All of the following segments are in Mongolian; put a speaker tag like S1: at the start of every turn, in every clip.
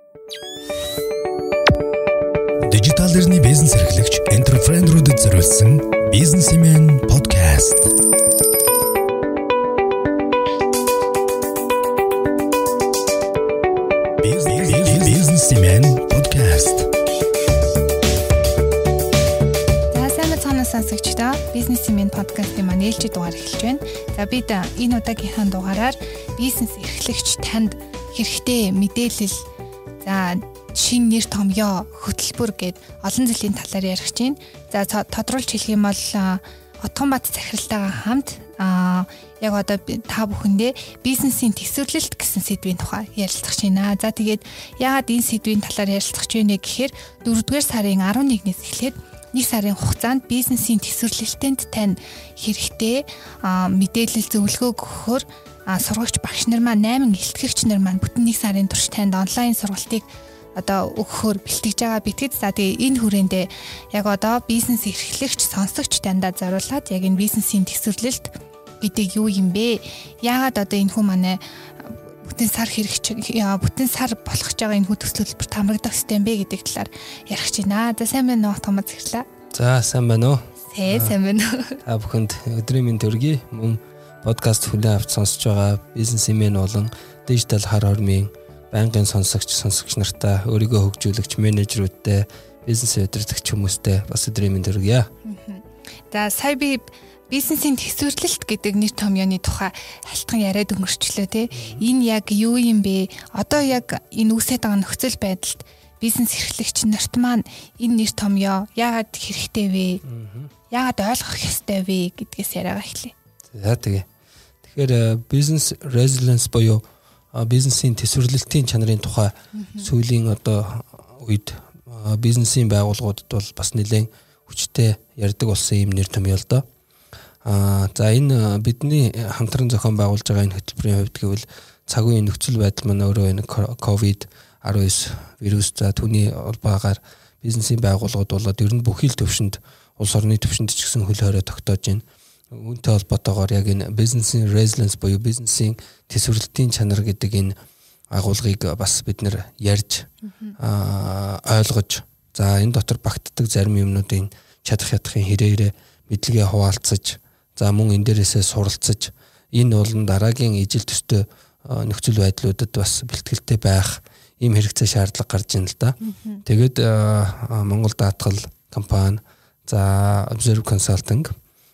S1: Дижитал эрхний бизнес эрхлэгч энтерпренерүүдэд зориулсан Businessman podcast. Businessman podcast.
S2: За сайн мэцхан сонсогчдоо Businessman podcast-ийн маань ээлжид дугаар эхэлж байна. За бид энэ удаагийнхаа дугаараар бизнес эрхлэгч танд хэрэгтэй мэдээлэл за шин нэр томьёо хөтөлбөр гээд олон жилийн талаар ярих чинь. За тодруулж хэлэх юм бол Отгонбат захиралтайгаа хамт яг одоо та бүхэндээ бизнесийн төсвөрлөлт гэсэн сэдвийн тухай ярилцах байна. За тэгээд яагаад энэ сэдвийн талаар ярилцах вэ гэхээр 4-р сарын 11-ээс эхлээд 1 сарын хугацаанд бизнесийн төсвөрлөлтөнд тань хэрэгтэй мэдээлэл зөвлөгөө өгөхөөр сургагч багш нар маань 8 илтгэгч нар маань бүтэн 1 сарын турш танд онлайн сургалтыг одоо өгөхөөр бэлтгэж байгаа битгэж. За тэгээ энэ хүрээндээ яг одоо бизнес эрхлэгч сонсогч дандаа зориулаад яг энэ бизнесийн төсвөрлөлт гэдэг юу юм бэ? Яагаад одоо энэ хүн манай бүтэн сар бүтэн сар болох гэж байгаа энэ хүн төсвөрлөлбөр тамрагдах систем бэ гэдэг талаар ярих гэж байна. За сайн байна уу Томас захирлаа.
S3: За сайн байна уу?
S2: Сайн байна уу?
S3: Та бүхэнд өдрийн мэнд төргий. Мөн подкаст хүлээн авч сонсож байгаа бизнесмен болон дижитал хар хормын байнгын сонсогч нартаа өөрийгөө хөгжүүлэгч менежерүүдтэй бизнес удирдагч хүмүүстэй бас өдрийн мэнд төргийа.
S2: За сая би бизнесийн төсвөрлөлт гэдэг нэр томьёоны тухай халтхан яриад өнгөрчлөө те. Энэ яг юу юм бэ? Одоо яг энэ үсэт байгаа нөхцөл байдалд бизнес эрхлэгч нарт маань энэ нэр томьёо яагаад хэрэгтэй вэ? Яагаад ойлгох ёстой вэ гэдгээс яриагаа эхлэе.
S3: За тэгэхээр бизнес resilience буюу бизнесийн төсвөрлөлтийн чанарын тухай сүүлийн одоо үед бизнесийн байгууллагуудад бол бас нэлээд хүчтэй ярьдаг болсон юм нэр томьёо л доо. За энэ бидний хамтран зохион байгуулж байгаа энэ хөтөлбөрийн хувьд гэвэл цаг үеийн нөхцөл байдал маань өөрөө энэ COVID-19 вирус за түүний улбаагаар бизнесийн байгууллагууд болоод ер нь бүхий л төвшөнд улс орны төвшөнд ч гэсэн хөл хорой тогтоож байна. Үүнтэй холбоотойгоор яг энэ бизнесийн resilience буюу бизнесийн төсвөрлөлтийн чанар гэдэг энэ агуулгыг бас бид нэр ярьж ойлгож за энэ дотор багтдаг зарим юмнуудын чадах ятахын хэрэгээрээ мэдлэгээ хуваалцаж за мөн энэ дээрээсээ суралцаж энэ болон дараагийн ижил төстэй нөхцөл байдлуудад бас бэлтгэлтэй байх ийм хэрэгцээ шаардлага гарч ийн л да. Тэгээд Монгол даатгал компани за Observe Consulting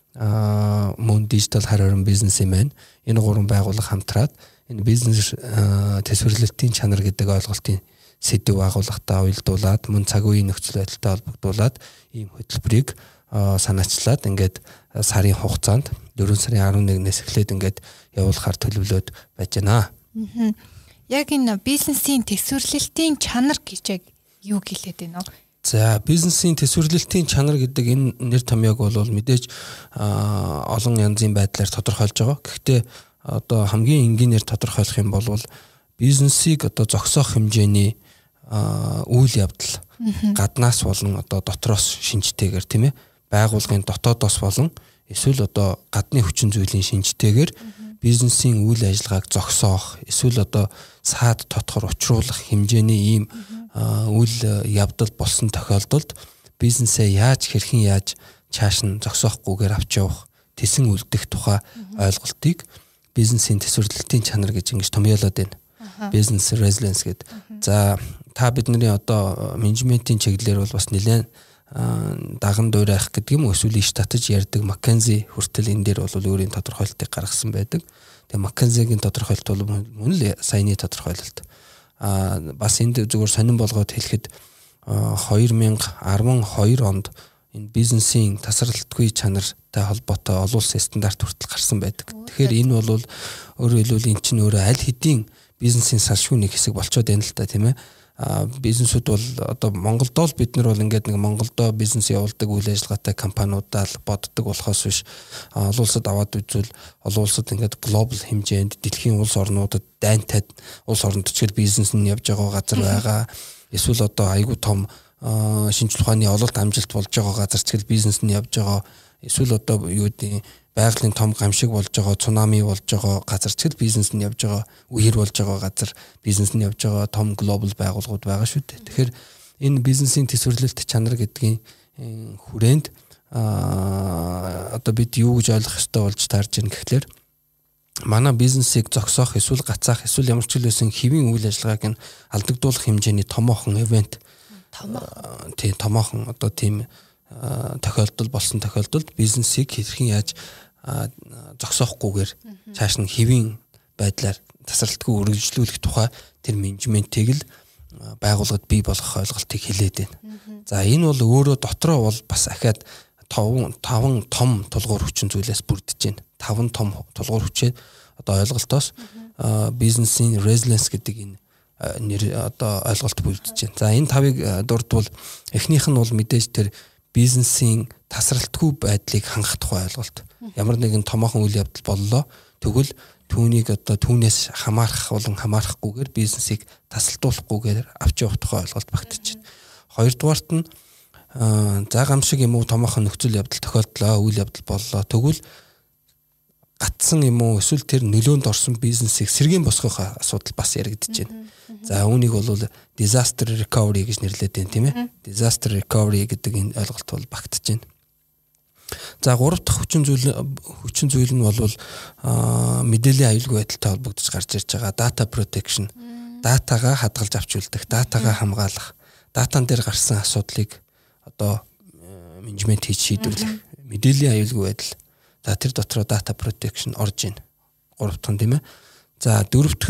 S3: мөн дижитал хар хорин бизнесмен энэ гурван байгууллага хамтраад энэ бизнес төсвөрлөлтийн чанар гэдэг ойлголтын сэдв агуулгатай уялдуулаад мөн цаг үеийн нөхцөл байдалтай холбогдуулаад ийм хөтөлбөрийг санаачлаад ингээд сарын хугацаанд 4 сарын 11-ээс эхлээд ингээд явуулахар төлөвлөд байж байна.
S2: Яг энэ бизнесийн төсвөрлөлтийн чанар гэж яг юу гэлээд байна вэ?
S3: За бизнесийн төсвөрлөлтийн чанар гэдэг энэ нэр томьёог бол мэдээж олон янзын байдлаар тодорхойлж байгаа. Гэхдээ одоо хамгийн энгийнээр тодорхойлох юм бол бизнесийг одоо зогсоох хэмжээний үйл явдал гаднаас болон одоо дотроос шинжтэйгээр тийм ээ байгуулгын дотоодоос болон эсвэл одоо гадны хүчин зүйлийн шинжтэйгээр бизнесийн үйл ажиллагааг зогсоох эсвэл одоо саад тотохор учруулах хэмжээний ийм үйл явдал болсон тохиолдолд бизнесээ хэрхэн яаж чааш нь зогсоохгүйгээр авч явах тэсэн үлдэх тухай ойлголтыг бизнесийн төсвөрлөлтийн чанар гэж ингэж томьёолоод байна. Business resilience гэдэг. За та бидний одоо менежментийн чиглэлээр бол бас нэлээд даган дуурайх гэдэг юм уу эсвэл иш татаж ярьдаг McKinsey хүртэл энэ дээр бол өөрийн тодорхойлолтыг гаргасан байдаг. Тэгээ McKinsey-гийн тодорхойлолт бол мөн л саяны тодорхойлолт. Бас энд зүгээр сонирн болгоод хэлэхэд 2012 онд энэ бизнесийн тасралтгүй чанартай холбоотой олон улсын стандарт хүртэл гарсан байдаг. Тэгэхээр энэ бол өөрөөр хэлбэл эн чинь өөрөө аль хэдийн бизнесийн салшгүй нэг хэсэг болчиход байна л та тийм ээ. Бизнесүүд бол одоо Монголдоо л бид нар бол ингээд нэг Монголдоо бизнес явуулдаг үйл ажиллагаатай компаниудаа л боддог болохоос биш олон улсад аваад үзвэл олон улсад ингээд глобал хэмжээнд дэлхийн улс орнуудад дайнтайд улс орнод ч гэл бизнес нь явж байгаа газар байгаа. Эсвэл одоо айгүй том шинжлэх ухааны ололт амжилт болж байгаа газар ч гэл бизнес нь явж байгаа эсвэл одоо юу гэдэг байгалийн том гамшиг болж байгаа, цунами болж байгаа газар ч бизнес нь явж байгаа, үер болж байгаа газар бизнес нь явж байгаа том глобал байгууллагууд байгаа шүү дээ. Тэгэхээр энэ бизнесийн төсвөрлөлт чанар гэдгийн хүрээнд одоо бид юу гэж ойлгох ёстой болж таарж байна гэхлээр манай бизнесийг зогсоох эсвэл гацаах эсвэл ямар ч хэлсэн хэвийн үйл ажиллагааг нь алдагдуулах хэмжээний томоохон ивент томоохон одоо тийм тохиолдол болсон тохиолдолд бизнесийг хэрхэн яаж зогсоохгүйгээр цааш нь хэвийн байдлаар тасралтгүй үргэлжлүүлэх тухай тэр менежментийг л байгууллагад бий болгох ойлголтыг хэлээд байна. За энэ бол өөрөө дотроо бол бас ахаад 5 том тулгуур хүчин зүйлээс бүрдэж байна. 5 том тулгуур хүчээ одоо ойлголтоос бизнесийн resilience гэдэг энэ нэр одоо ойлголт бүрдэж байна. За энэ 5-ыг дурдвал эхнийх нь бол мэдээж тэр бизнесийн тасралтгүй байдлыг хангах тухай ойлголт. Ямар нэгэн томоохон үйл явдал боллоо. Тэгвэл түүнийг одоо түүнээс хамаарах болон хамаарахгүйгээр бизнесийг тасалдуулахгүйгээр авч явах тухай ойлголт багтаж байна. Хоёрдугаарт нь за гамшиг юм уу томоохон нөхцөл явдал тохиолдлоо, үйл явдал боллоо. Тэгвэл гатсан юм уу эсвэл тэр нөлөөнд орсон бизнесийг сэргийн босгох асуудал бас яригдж байна. За үүнийг бол disaster recovery гэж нэрлэдэг юм тийм ээ. Disaster recovery гэдэг энэ ойлголт бол багтаж байна. За гурав дахь хүчин зүйл нь бол мэдээллийн аюулгүй байдалтай холбогдож гарч ирж байгаа data protection, датагаа хадгалж авч үлдэх, датагаа хамгаалах, датан дээр гарсан асуудлыг одоо менежмент хийж шийдвэрлэх, мэдээллийн аюулгүй байдал. За тэр дотроо data protection орж ийн. Гурав дахь нь тийм ээ. За дөрөв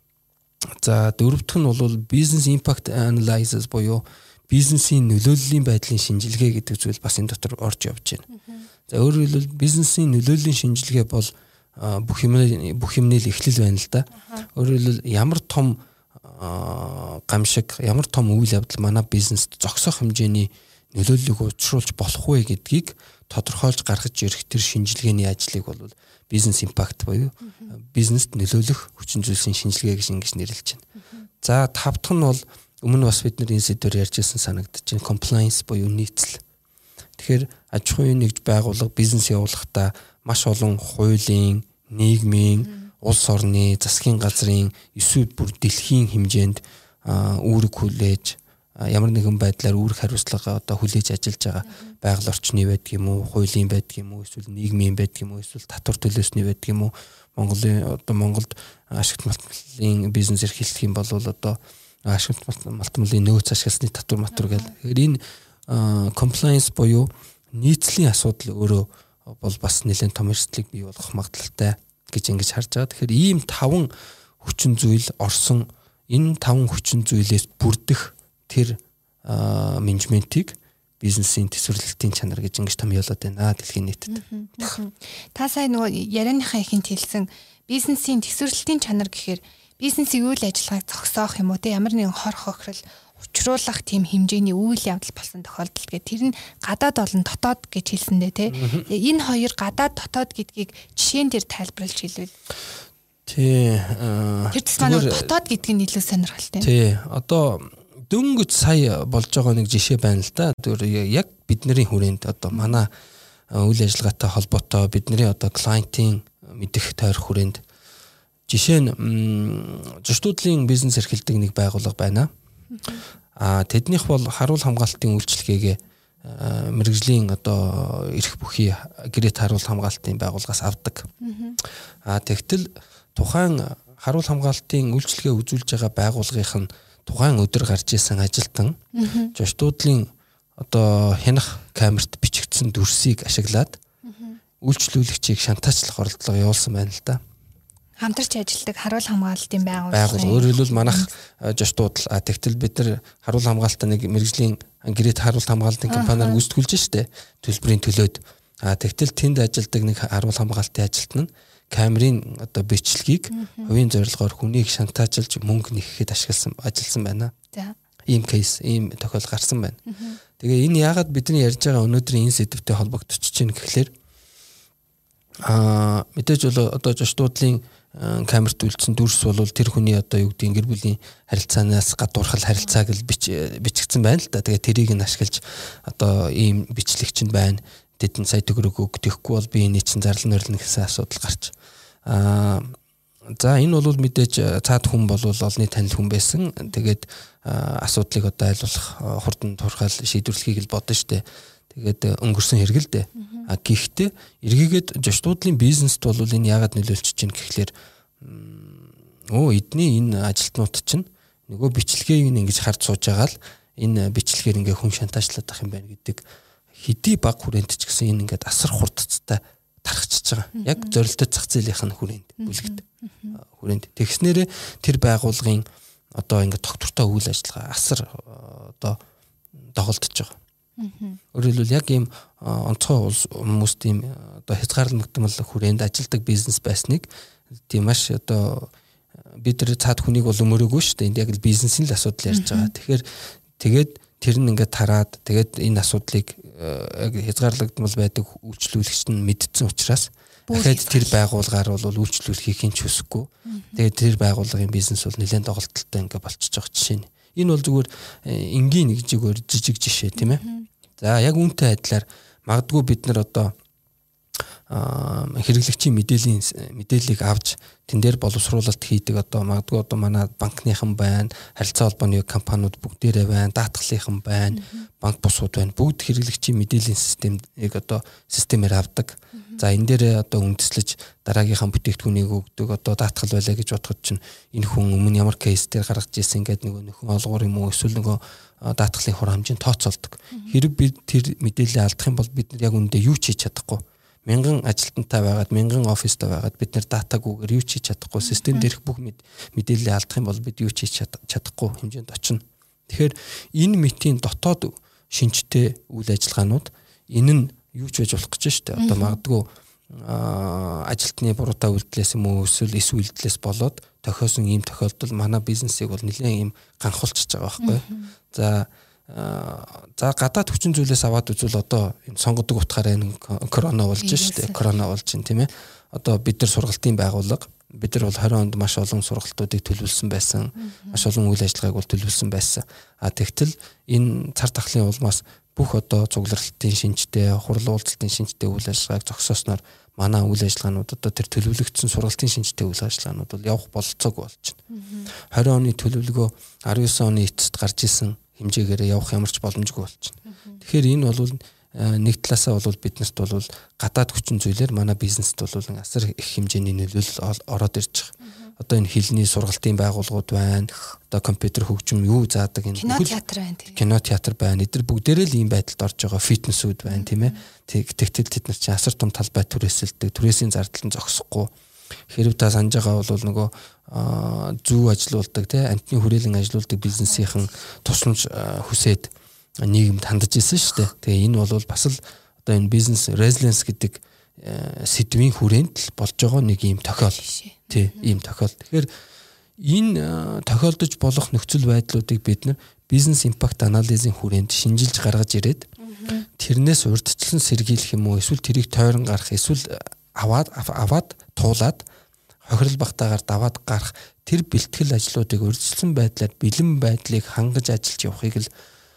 S3: дахь нь бол business impact analysis буюу бизнесийн нөлөөллийн байдлын шинжилгээ гэдэг зүйл бас энэ дотор орж явж байна. За өөрөөр хэлбэл бизнесийн нөлөөллийн шинжилгээ бол бүх юмний л эхлэл байна л да. Өөрөөр хэлбэл ямар том гамшиг, ямар том үйл явдал манай бизнест зогсох хэмжээний нөлөөллийг учруулж болох вэ гэдгийг тодорхойлж гаргаж ирэх тэр шинжилгээний ажлыг бол бизнес импакт буюу бизнест нөлөөлөх хүчин зүйлсийн шинжилгээ гэж нэрлэж байна. За 5 дахь нь бол өмнө бас бид нар энэ сэдвээр ярьжсэн санагдаж байна. Compliance буюу нийцэл. Тэгэхээр аж ахуйн нэгж байгууллага бизнес явуулахдаа маш олон хуулийн, нийгмийн, улс орны, засгийн газрын эсвэл бүр дэлхийн хэмжээнд үүрэг хүлээж ямар нэгэн байдлаар үүрэг хариуцлага одоо хүлээж ажиллаж байгаа байгаль орчны байдаг юм уу, хуулийн байдаг юм уу, эсвэл нийгмийн байдаг юм уу, эсвэл татвар төлөөсний байдаг юм уу, Монголд ашигт малтмалын бизнес эрхэлдэг юм бол одоо ашигт малтмалын нөөц ашигласны татвар гэдэг. Тэгэхээр энэ compliance буюу нийцлийн асуудал өөрөө бол бас нэлээд том эрсдлийг бий болгох магадлалтай гэж ингэж харж байгаа. Тэгэхээр ийм 5 хүчин зүйл орсон энэ 5 хүчин зүйлээс бүрдэх тэр менежментийг бизнесийн төсвөрлөлтийн чанар гэж ингэж томьёолоод байна дэлхийн нийтэд.
S2: Та сая нөгөө ярианыхаа ихэнд хэлсэн бизнесийн төсвөрлөлтийн чанар гэхээр бизнесийн үйл ажиллагааг зогсоох юм уу те ямар нэгэн хор хохирол учруулах тийм хэмжээний үйл явдал болсон тохиолдолд гэх тэр нь гадаад болон дотоод гэж хэлсэндээ те энэ хоёр гадаад дотоод гэдгийг жишээн дээр тайлбарлаж хэлвэл
S3: тий
S2: тэр тусмаа дотоод гэдгийг нь илүү сонирхолтой.
S3: Тий одоо дөнгөж сая болж байгаа нэг жишээ байна л да. Тэр яг бидний хүрээнд одоо манай үйл ажиллагаатай холбоотой бидний одоо клиентийн мэдих тойрох хүрээнд жишээ нь зочдлын бизнес эрхэлдэг нэг байгууллага байна. Тэднийх бол харуул хамгаалтын үйлчилгээгээ мэргэжлийн одоо эрх бүхий гэрээт харуул хамгаалтын байгууллагаас авдаг. Тэгтэл тухайн харуул хамгаалтын үйлчилгээ үзүүлж байгаа байгууллагын тухайн өдөр гарч исэн ажилтан зочдлын одоо хянах камерт бичигдсэн дүрсийг ашиглаад үйлчлүүлэгчийг шантаачлах оролдлого явуулсан байна л да.
S2: Хамтарч ажилладаг харуул хамгаалтын байгууллага.
S3: Өөрөөр хэлбэл манайх зочдууд тэгтэл бид нар харуул хамгаалтаа нэг мэргэжлийн гэрээт харуул хамгаалтын компаниар гүйцэтгүүлж штэ төлбөрийн төлөөд. Тэгтэл тэнд ажилладаг нэг харуул хамгаалтын ажилтан нь камерын одоо бичлэгийг хувийн зорилгоор хүнийг шантаажлж мөнгө нэхэхэд ажилласан байна.
S2: За.
S3: Ийм кейс, ийм тохиол гарсан байна. Тэгээ энэ яагаад бидний ярьж байгаа өнөөдрийн энэ сэдвтэй холбогдож байна гэхлээр мэдээж бол одоо зочдлын камерт үйлдсэн дүрс бол тэр хүний одоо юу гэдэг гэр бүлийн харилцаанаас гадуурхал харилцааг л бичигдсэн байна л да. Тэгээ тэрийг нь ашиглаж одоо ийм бичлэгч нь байна. тэдэн сая төгрөг өгөхгүй бол би энэ чинь зарлан нөрлөн гэсэн асуудал гарч. За энэ бол мэдээж цаад хүн бол олонний танил хүн байсан. Тэгээд асуудлыг одоо айлуулах хурдан турхаал шийдвэрлэхийг л бодно штэ. Тэгээд өнгөрсөн хэрэг л дээ. Гэхдээ эргээгээд жошдуудлын бизнест бол энэ яагаад нөлөөлж чинь гэхлээр эдний энэ ажилтнууд чинь нөгөө бичлэгийг ингэж харж сууж байгаа л энэ бичлэгээр ингээ хүн шантажлаад ах юм байна гэдэг хэдий баг хүрээнд ч гэсэн энэ ингээд асар хурдцтай тархчихж байгаа. Яг зорилттой зах зээлийнх нь хүрээнд бүлэгт хүрээнд тэгснээрээ тэр байгууллагын одоо ингээд доктортой үйл ажиллагаа асар одоо доголдож байгаа. Өөрөөр хэлбэл яг ийм онцгой хүмүүс тийм одоо хязгаарлагдмал хүрээнд ажилдаг бизнес байсныг тийм маш одоо бид нар цаад хүнийг бол өмөрөөгүй шүү дээ. Энд яг л бизнесийн л асуудал ярьж байгаа. Тэгэхээр тэгээд тэр нь ингээд тараад тэгээд энэ асуудлыг яг хязгаарлагдмал байдаг үйлчлүүлэгч нь мэдсэн учраас дахиад тэр байгууллагаар бол үйлчлүүлэхийг хинч хүсэхгүй. Тэгээд тэр байгууллагын бизнес бол нэлээд доголдолтой ингээд болчихж байгаа жишээ нь. Энэ бол зүгээр энгийн нэг жижиг жишээ тийм ээ. За яг үүнтэй адилаар магадгүй бид нар одоо хэрэглэгчийн мэдээллийг авч тэн дээр боловсруулалт хийдэг одоо магадгүй одоо манай банкныхан байна, харилцаа холбооны компаниуд бүгдээрээ байна, даатгалынхан байна, банк бусууд байна. Бүгд хэрэглэгчийн мэдээллийн системийг одоо системээр авдаг. За энэ дээр одоо үндэслэж дараагийнхаа бүтээгдэхүүнийг өгдөг одоо даатгал байлаа гэж бодоход чинь энэ хүн өмнө ямар кейс дээр гаргаж ирсэн гэдэг нөгөө нөхөн олгоор юм уу эсвэл нөгөө даатгалын хур хэмжээнд тооцоолдог. Хэрэг бид тэр мэдээллийг алдах юм бол бид яг үүндээ юу ч хийж чадахгүй. Мянган ажилтнтай байгаад мянган оффистай байгаад бид нэр датагүйгээр юу ч хийж чадахгүй. Систем дээрх бүх мэдээллийг алдах юм бол бид юу ч хийж чадахгүй хэмжээнд очино. Тэгэхээр энэ мэтийн дотоод шинжтэй үйл ажиллагаанууд энэ нь юу ч байж болох гэж штэ. Одоо магадгүй ажилтны буруутай үйлдэлээс юм уу эсвэл эс үйлдэлээс болоод тохиосон ийм тохиолдол манай бизнесийг бол нэлээд ийм ганхуулчихж байгаа байхгүй. За гадаад хүчин зүйлээс аваад үзвэл одоо энэ сонгодог утгаараа энэ корона болж штэ. Корона болж байна тийм ээ. Одоо бид нар сургалтын байгууллага бид нар бол 20 онд маш олон сургалтуудыг төлөвлөсөн байсан. Маш олон үйл ажиллагааг бол төлөвлөсөн байсан. Тэгтэл энэ цар тахлын улмаас бүх одоо цугларалтын шинжтэй, хурлын уулзалтын шинжтэй үйл ажиллагааг зогсоосноор манай үйл ажиллагаанууд одоо тэр төлөвлөгдсөн сургалтын шинжтэй үйл ажиллагаанууд бол явах бололцоогүй болж байна. 20 оны төлөвлөгөө 19 оны эцэст гарч исэн хэмжээгээр явах ямар ч боломжгүй болж байна. Тэгэхээр энэ бол нэг талаасаа бол биднэрт бол гадаад хүчин зүйлээр манай бизнест бол асар их хэмжээний нөлөөлөл ороод ирж байгаа. Одоо энэ хэлний сургалтын байгууллагууд байна. Одоо компьютер хөгжим юу заадаг энэ кино театр байна. Эдгээр бүгдээрээ л ийм байдалд орж байгаа фитнесүүд байна тийм ээ. Тэгтэл тэд нар чинь асар том талбай түрээсэлдэг. Түрээсийн зардал нь зогсохгүй. Хэрв та санаж байгаа бол нөгөө зүү ажилуулдаг тий амтны хүрээлэн ажилуулдаг бизнесийнхэн тусламж хүсээд нийгэмд хандаж ирсэн шүү дээ. Тэгээ энэ бол бас л одоо энэ бизнес resilience гэдэг сэдвийн хүрээнд л болж байгаа нэг ийм тохиол. Тий ийм тохиол. Тэгэхээр энэ тохиолдож болох нөхцөл байдлуудыг бид нар бизнес импакт анализийн хүрээнд шинжилж гаргаж ирээд тэрнээс урьдчилан сэргийлэх юм уу эсвэл тэрийг тойрон гарах эсвэл аваад туулаад хохирол багтаагаар даваад гарах тэр бэлтгэл ажлуудыг урьдчилсан байдлаар бэлэн байдлыг хангаж ажиллаж явахыг л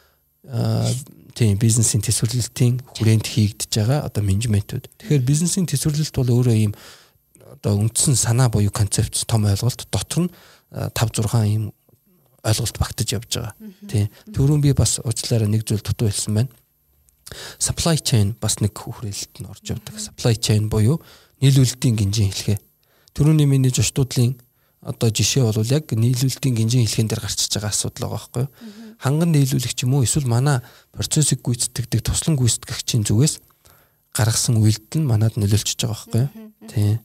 S3: тийм бизнесийн төсвөрлөлтийн хүрээнд хийгдэж байгаа одоо менежментүүд. Тэгэхээр бизнесийн төсвөрлөлт бол өөрөө ийм одоо үндсэн санаа буюу концепц том ойлголт дотор нь 5-6 ийм ойлголт багтаж явж байгаа. Тийм. Түрүүн би бас уучлаарай нэг зүйл дутуу хэлсэн байна. Supply chain бас нэг хүрээлэлт нь орж явдаг. Supply chain буюу нийлүүлэлтийн гинжин хэлхээ. Түрүүний миний жошдуудлын одоо жишээ бол яг нийлүүлэлтийн гинжин хэлхэн дээр гарчиж байгаа асуудал байгаа байхгүй юу? Ханган нийлүүлэгч юм уу эсвэл манай процессыг гүйцэтгэдэг туслан гүйцэтгэгчийн зүгээс гаргасан үйлдэл нь манад нөлөөлчихөж байгаа байхгүй юу? Тийм.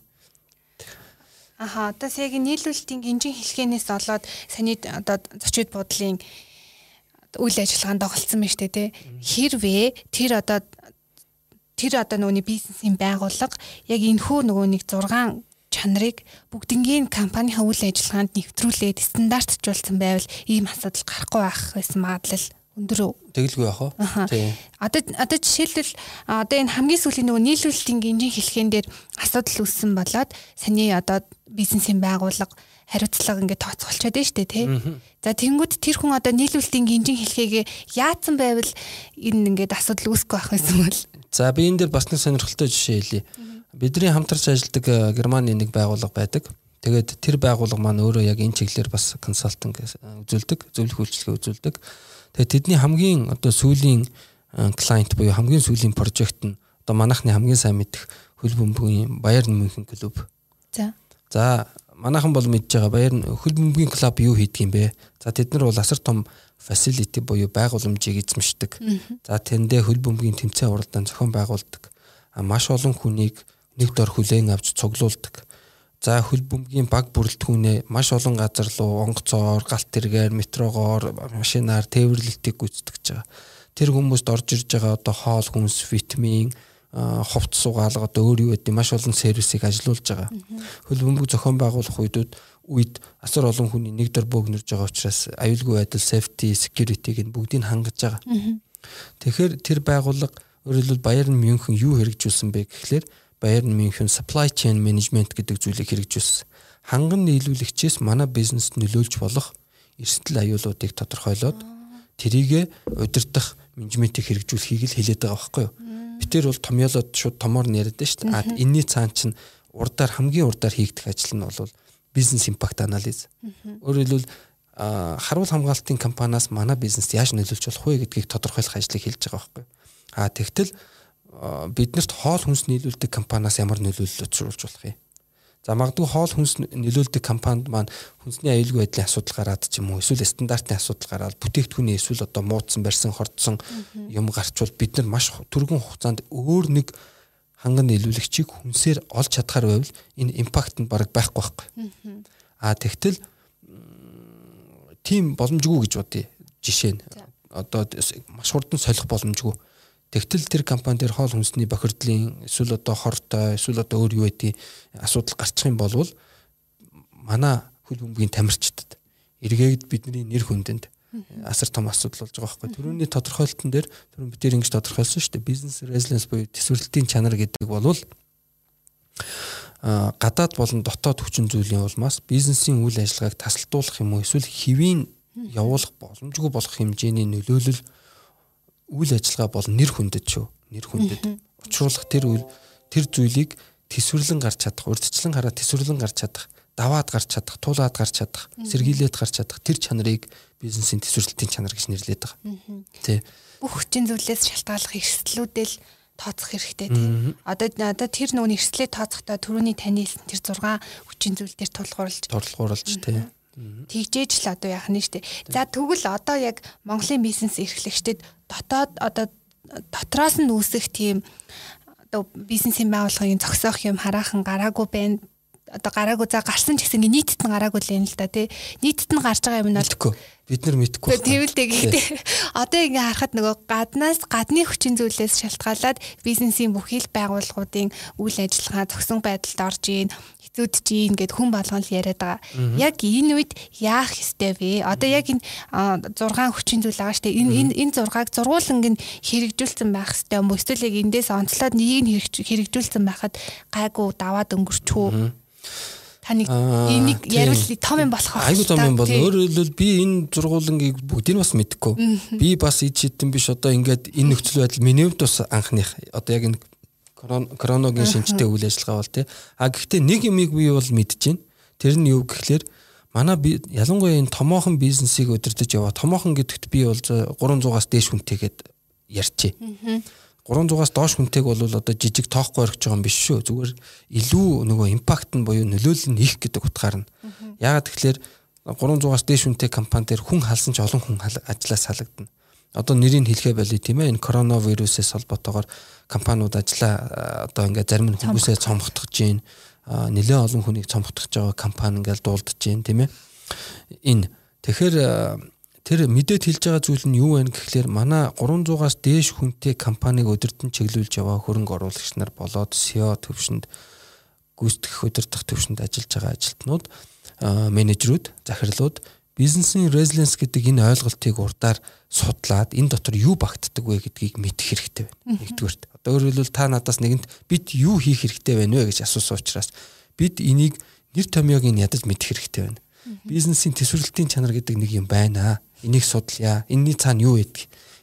S2: Одоо яг нийлүүлэлтийн гинжин хэлхэнээс болоод саний одоо зочид буудлын үйл ажиллагаанд доголцсон байна шүү дээ тий. Хэрвээ тэр одоо нөгөөний бизнесийн байгууллага яг энэхүү нөгөө нэг 6 чанарыг бүгднгийн компанийн үйл ажиллагаанд нэвтрүүлээд стандартжуулсан байвал ийм асуудал гарахгүй байх байсан магадлал өндөр үү?
S3: Тэгэлгүй яах вэ? Тийм.
S2: Одоо жишээлбэл одоо энэ хамгийн сүүлийн нөгөө нийлүүлэлтийн гинжин хэлхэн дээр асуудал үүссэн болоод саний одоо бизнесийн байгууллага хариуцлага ингээд тооцоолчод байна шүү дээ тий. За тэнгууд тэр хүн одоо нийлүүлэлтийн гинжин хэлхээгээ яатсан байвал энэ ингээд асуудал үүсэхгүй байх байсан бол
S3: За би энэ дээр бас нэг сонирхолтой жишээ хэлье. Бидний хамтарч ажилладаг Германы нэг байгууллага байдаг. Тэгээд тэр байгууллага маань өөрөө яг энэ чиглэлээр бас консалтинг үзүүлдэг, зөвлөх үйлчилгээ үзүүлдэг. Тэгээд тэдний хамгийн одоо сүүлийн клиент буюу хамгийн сүүлийн прожект нь одоо манайхны хамгийн сайн мэдих хөл бөмбөгийн Bayern München клуб. За манайхан бол мэдж байгаа Bayern хөл бөмбөгийн клуб юу хийдэг юм бэ? За тэд нар бол асар том facility буюу байгууламжийг эзэмшдэг. За тэндээ хөл бөмбөгийн тэмцээн уралдаан зохион байгуулдаг. Маш олон хүнийг нэг дор хүлээн авч цуглуулдаг. За хөл бөмбөгийн баг бүрэлдэхүүнээ маш олон газар руу онгоцоор, галт тэргээр, метрогоор, машинаар тээвэрлэлтийг гүйцэтгэж байгаа. Тэр хүмүүст орж ирж байгаа одоо хоол хүнс, витамин, хувц сугаалга одоо өөр юу гэдэг маш олон сервисийг ажилуулж байгаа. Хөл бөмбөг зохион байгуулах үед асар олон хүний нэг дор бөөгнөрж байгаа учраас аюулгүй байдал, safety, security-г бүгдийг хангаж байгаа. Тэгэхээр тэр байгууллага өөрөлдвөл Bayern München юу хэрэгжүүлсэн бэ гэхлээр Bayern München supply chain management гэдэг зүйлийг хэрэгжүүлсэн. Ханган нийлүүлэгчээс манай бизнест нөлөөлж болох эрсдэл аюулуудыг тодорхойлоод тэрийг удирдах менежментийг хэрэгжүүлэхийг л хэлээд байгаа байхгүй юу? Битэр бол томьёолоод шууд томоор яриад байна шүү дээ. Энэний цаан чинь хамгийн урдаар хийгдэх ажил нь бол бизнес импакт анализ. Өөрөөр хэлбэл харуул хамгаалтын компаниас манай бизнест яаж нөлөөлж болох вэ гэдгийг тодорхойлох ажлыг хийж байгаа байхгүй юу? Тэгтэл биднэрт хоол хүнс нийлүүлдэг компаниас ямар нөлөөлөл учруулж болох юм? За магадгүй хоол хүнс нөлөөлдөг компанид маань хүнсний аюулгүй байдлын асуудал гараад ч юм уу эсвэл стандартны асуудал гараад бүтээгдэхүүний эсвэл одоо муудсан барьсан хордсон юм гарчвал бид нар маш түргэн хугацаанд өөр нэг ханган нийлүүлэгчийг хүнсээр олж чадхаар байвал энэ импакт нь бараг байхгүй байхгүй. Тэгтэл тийм боломжгүй гэж бодъё. Жишээ нь одоо маш хурдан солих боломжгүй. Тэгтэл тэр компани дээр хоол хүнсний бохирдлын эсвэл одоо хортой эсвэл одоо өөр юу байдгийг асуудал гарчих юм бол манай хөл бөмбөгийн тамирчдад эргээд бидний нэр хүндэнд асар том асуудал болж байгаа байхгүй. Төрөний тодорхойлолтын дээр түрүүн бид ингэж тодорхойлсон шүү дээ. Бизнес resilience буюу төсвөрлөлтийн чанар гэдэг бол гадаад болон дотоод хүчин зүйлийн улмаас бизнесийн үйл ажиллагааг тасалдуулах юм уу эсвэл хэвийн явуулах боломжгүй болох хэмжээний нөлөөлөл үйл ажиллагаа бол нэр хүндэд шүү. Нэр хүндэд учруулах тэр зүйлийг төсвөрлөн гарч чадах, урьдчилан хараад төсвөрлөн гарч чадах, даваад гарч чадах, туулаад гарч чадах, сэргийлээд гарч чадах тэр чанарыг бизнесийн төсвөрлөлтийн чанар гэж нэрлэдэг байгаа. Тэ.
S2: Бүх хүчин зүйлээс шалтгааллах эрсдлүүдэл тооцох хэрэгтэй тийм. Одоо тэр нөгөө эрсдлээ тооцохдоо түрүүний таны хэлсэн тэр 6 хүчин зүйл дээр тулгуурлаж тийм. Тэгжээж л одоо яах нь штэ. За тэгвэл одоо яг Монголын бизнес эрхлэгчдэд дотроос нь үүсэх тийм одоо бизнесийн байгууллагын зогсоох юм хараахан гараагүй байна. Одоо гараагүй за гарсан ч гэсэн нийтэд нь гараагүй л юм л да тий. Нийтэд нь гарч байгаа юм нь бол
S3: бид нар мэдэхгүй.
S2: Тэвэлтэй гэхдээ одоо ингээ харахад нөгөө гадны хүчин зүйлээс шалтгаалаад бизнесийн бүхий л байгууллагуудын үйл ажиллагаа зогсон байдалд орж ийн хэцүүдж ийн гэд хүн болгон л яриад байгаа. Яг энэ үед яах ёстой вэ? Одоо яг энэ 6 хүчин зүйл байгаа штэ. Энэ 6-аг зургуулан ингээ хэрэгжүүлсэн байх ёстой юм уу? Эсвэл яг эндээс онцлоод нэг нь хэрэгжүүлсэн байхад гайгүй даваад өнгөрчихөө. Таны энийг яривал том юм болох
S3: айгуу том юм бол өөрөөр хэлбэл би энэ зургуулангийг бүгдийг бас мэдэхгүй. Би бас ид шидэн биш одоо ингээд энэ нөхцөл байдал миний хувьд бас анхных одоо яг энэ короногийн шинжтэй үйл ажиллагаа бол тий. Гэхдээ нэг юмыг би бол мэдэж байна. Тэр нь юу гэхлээр манай ялангуяа энэ томоохон бизнесийг удирдах яваа. Томоохон гэдэгт би бол 300-аас дээш хүнтэйгээд ярьчээ. 300-аас доош хүнтэйг бол одоо жижиг тоохгүй орхиж байгаа юм биш шүү. Зүгээр илүү нөгөө импакт нь буюу нөлөөлөл нь их гэдэг утгаар нь. Яагаад тэгэхээр 300-аас дээш хүнтэй компани дээр хүн халсан ч олон хүн ажиллаас салагдана. Одоо нэрийг хэлхээ болий тийм ээ. Энэ коронавирусээс холбоотойгоор компаниуд ажиллаа одоо ингээд зарим нь хүмүүсээ цомготгож гин нэлээд олон хүнийг цомготгож байгаа компани ингээд дуулдаж гин тийм ээ. Энэ тэгэхээр тэр мэдээд хэлж байгаа зүйл нь юу вэ гэхлээр манай 300-аас дээш хүнтэй компаниг удирдан чиглүүлж яваа хөрөнгө оруулагч нар болоод SEO төвшөнд гүйцэтгэх удирдах төвшөнд ажиллаж байгаа ажилтнууд, менежерүүд, захирлууд бизнесийн resilience гэдэг энэ ойлголтыг урдаар судлаад энэ дотор юу багтдаг вэ гэдгийг мэдэх хэрэгтэй байна. Нэгдүгээрт. Одоо өөрөөр хэлбэл та надаас нэгэнт бид юу хийх хэрэгтэй байна вэ гэж асуусан учраас бид энийг нэр томьёог нь ядаж мэдэх хэрэгтэй байна. Бизнесийн төсвөрлөлтийн чанар гэдэг нэг юм байна. Энийг судлая. Энийний цаана юу байдаг?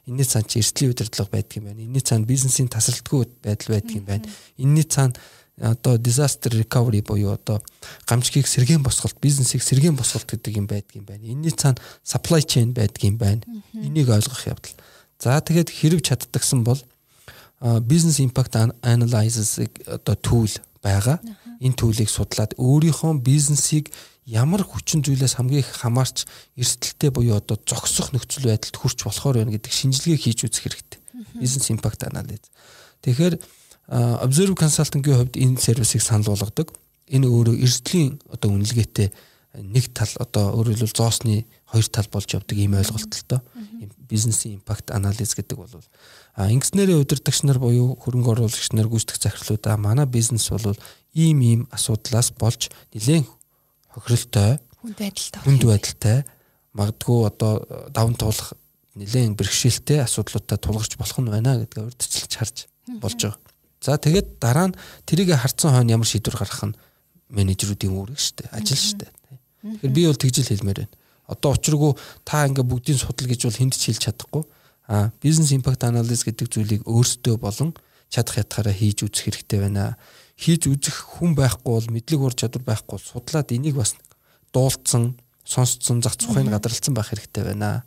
S3: Энэний цаана чи эрсдлийн удирдлага байдаг юм байна. Энэний цаана бизнесийн тасралтгүй байдал байдаг юм байна. Энэний цаана одоо disaster recovery буюу одоо гамшигыг сэргээн босголт, бизнесийг сэргээн босголт гэдэг юм байдаг юм байна. Энэний цаана supply chain байдаг юм байна. Энийг ойлгох явдал. За тэгээд хэрэг чаддагсан бол business impact analysis одоо tool байгаа. Энэ төлийг судлаад өөрийнхөө бизнесийг ямар хүчин зүйлээс хамгийн их хамаарч эрсдэлтэй буюу одоо зогсох нөхцөл байдалд хүрч болохоор байна гэдэг шинжилгээ хийж үзэх хэрэгтэй. Business impact analysis. Тэгэхээр Observe Consulting-ийн хувьд энэ сервисыг санал болгодог. Энэ өөрөө эрсдлийн одоо үнэлгээтэй нэг тал одоо өөрөөр хэлбэл зоосны хоёр тал болж явдаг ийм ойлголттой. Business impact analysis гэдэг бол ингэснээрээ удирдагч нар буюу хөрөнгө оруулагч нар гүйцэтгэх захирлуудаа манай бизнес бол ийм асуудлаас болж нэлээд хохиролтой хүнд байдалтай магадгүй одоо даван туулах нэлээд бэрхшээлтэй асуудлуудаа тулгарч болох нь байна гэдгээ урьдчилж харж болж байгаа. За тэгээд дараа нь тэрийг харцсан хойно ямар шийдвэр гаргах нь менежерүүдийн үүрэг шүү дээ, ажил шүү дээ. Тэгэхээр би бол тэгж л хэлмээр байна. Одоо учиргүй та ингээ бүгдийн судал гэж бол хүнд ч хэлж чадахгүй. Business impact analysis гэдэг зүйлийг өөрсдөө болон чадах ятгаараа хийж үзэх хэрэгтэй байна. Хийж үзэх хүн байхгүй бол мэдлэг ур чадвар байхгүй бол судлаад энийг бас дуулцсан, сонсцсон, зах зохиог гадралцсан байх хэрэгтэй байна.